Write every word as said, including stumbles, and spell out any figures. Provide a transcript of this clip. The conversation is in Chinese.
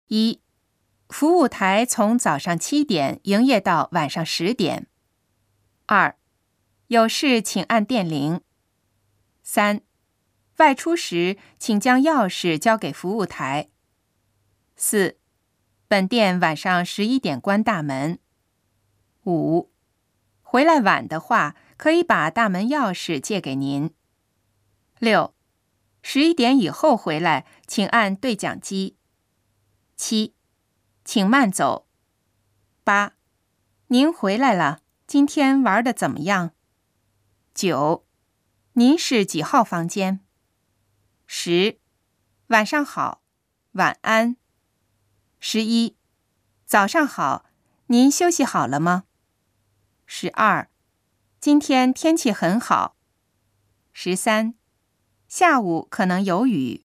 一、服务台从早上七点营业到晚上十点。二、有事请按电铃。三、外出时请将钥匙交给服务台。四、本店晚上十一点关大门。五、回来晚的话，可以把大门钥匙借给您。六、十一点以后回来，请按对讲机。七、请慢走。八、您回来了，今天玩得怎么样？九、您是几号房间？十、晚上好，晚安。十一、早上好，您休息好了吗？十二、今天天气很好。十三、下午可能有雨。